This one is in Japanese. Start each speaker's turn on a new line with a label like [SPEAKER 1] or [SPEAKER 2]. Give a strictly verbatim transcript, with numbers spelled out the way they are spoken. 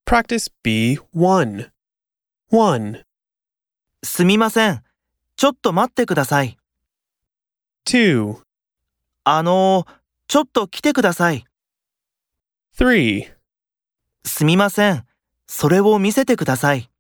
[SPEAKER 1] Practice B one. one.
[SPEAKER 2] すみません。ちょっと待ってください。
[SPEAKER 1] two.
[SPEAKER 2] あのー、ちょっと来てください。
[SPEAKER 1] three.
[SPEAKER 2] すみません。それを見せてください。